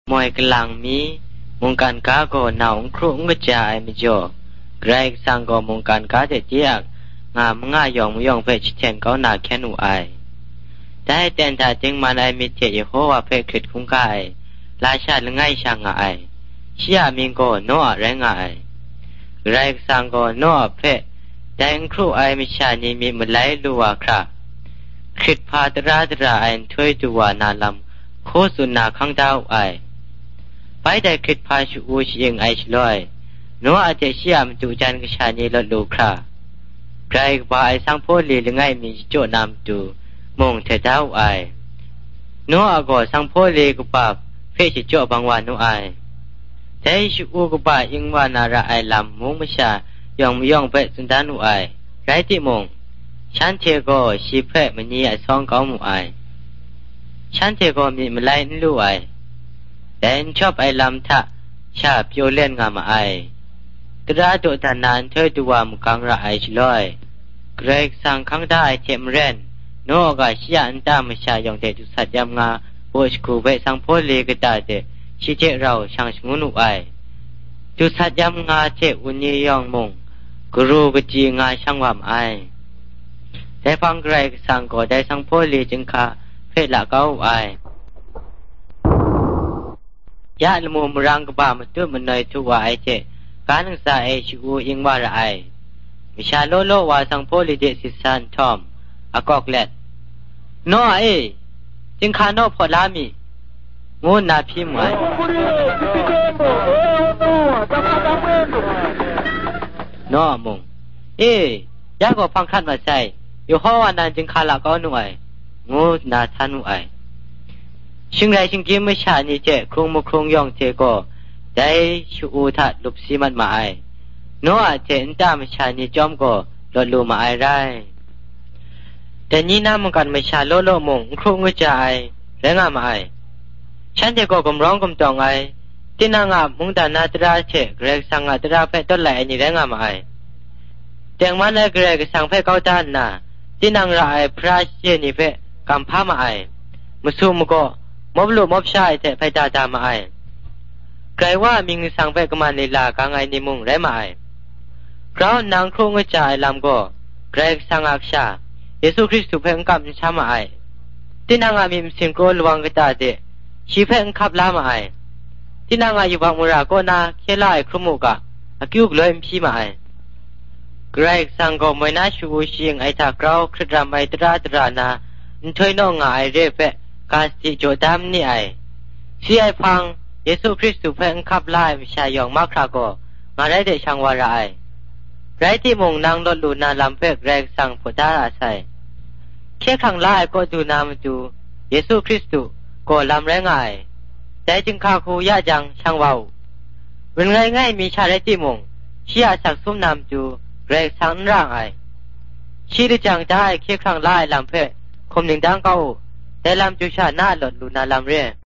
มวยกลางมีมุงการก้าก็หนาวครุ่งกระจายไม่จ่อไกรสังก็มุงการก้าเจียกงามง่ายยองเพชเชนก็หนาแค่หนูไอได้แต่ถ้าจึงมันไอมีเจยโฮว่าเพคิดคุ้งกายราชาลง่ายช่างไอเชียมิงก็โน่แรงไอไกรสังก็โน่เพแต่งครูไอมิชานีมีมาไล่ลัวครับคิดพาตราไอถ้วยตัวนาลำโคสุนาขังดาวไอไปได้คิดพาชูอูชิงไอชลอยโนอาจจะเชื่อมจูจันกชานีลดลูคราไกรกว่าไอสังโพลีลง่ายมีโจนำตูมงเทดาวไอโนอาก็สังโพลีกบาเฟชิโจบางวันโนไอแต่ชูอูกบาอิงวานาระไอลำมงมชายองเปสุนดานุไอไรติมงฉันเทก็ชีเพมันนี่ไอซองก้ามูไอฉันเทก็มีมาไล่นลู่ไอแต่ชอบไอลำทะชาเปียวเล่นงามไอตราโดดนานเธอดูว่ามุกังระไอชลอยเกรกสังขังได้เจมเรนโนกาชิอันตามชายองเตตุสัตยามงาโบชคูเวสังโพเลกตาเตชิเจเราช่างชงุนุไอตุสัตยามงาเจอุนียองมงกรูกจีงาช่างวามไอแต่ฟังเกรกสังก็ได้สังโพเลจึงคาเพละเก้าไอยาลมูมรังกบามตุมันเนยทุวาไอเจการศึกษาเอชูอิงวาระไอวิชาโลโลวาสังโพลิเดสิสันทอมอากอกเล็ดโนเอจึงคาโนพอลามีงูนาพิมวยโนมงยาก็ฟังคันมาใส่อยู่ห้อวานันจึงคาละก้อหน่วยงูนาทันุไอชิงไรชิงกิมไม่ชานี่เจคงมุคงยองเจก็ได้ชูอูทัดลุบซีมันมาไอโนอาเจนตามชานี่จอมก็ลดลูมาไอไรแต่นี่น้ามันกันไม่ชาโลโลมงคงกระจายแรงมาไอฉันเจก็กำร้องกำตองไอที่นางอามุงตานาตราเจเกรกสังอาตราเพ่ต้นไหลนี่แรงมาไอแต่งมันไอเกรกสังเพ่เก้าด้านน่ะที่นางรายพระเจนี่เพ่กำพามาไอมุสุมก็มบลูมบชายแต่ไปดามาไอไกลว่ามิงสังเปกมาในลากางไอนิมุงไรมาไอเพราะนางคงกระจายลำก็ไกลสังอักษาเยซูคริสต์เพ่งกับชามาไอที่นางอามิมสิงโกลวังกตาเดชีเพ่งขับลามาไอที่นางอายุบังมุราก็นาเคลายครุมุกะอากิวกลอยมพีมาไอไกลสังก็ไม่น่าชูชิงไอตากราวคริตรามไอตรานาถอยน้องไอเรเปกาสติโจดามนี่ไอซีไอฟังเยซูคริสต์เพ่งขับไล่มิชายองมากคราก็มาได้เดช่างวาระไอไรที่มงนางลดลูนาลำเพ็กแรงสั่งผดาอาศัยแค่ขังไล่ก็ดูนามดูเยซูคริสต์ก็ลำแรงไอแต่จึงข้าคูยะจังช่างวาวเป็นง่ายมีชาไรที่มงเชียสักซุ่มนามดูแรงสั่งร่างไอชีดิจังได้แค่ขังไล่ลำเพ็กคมหนึ่งดังเก้าแต่ลำจูชาหน้าหลดลูนาลำเรีย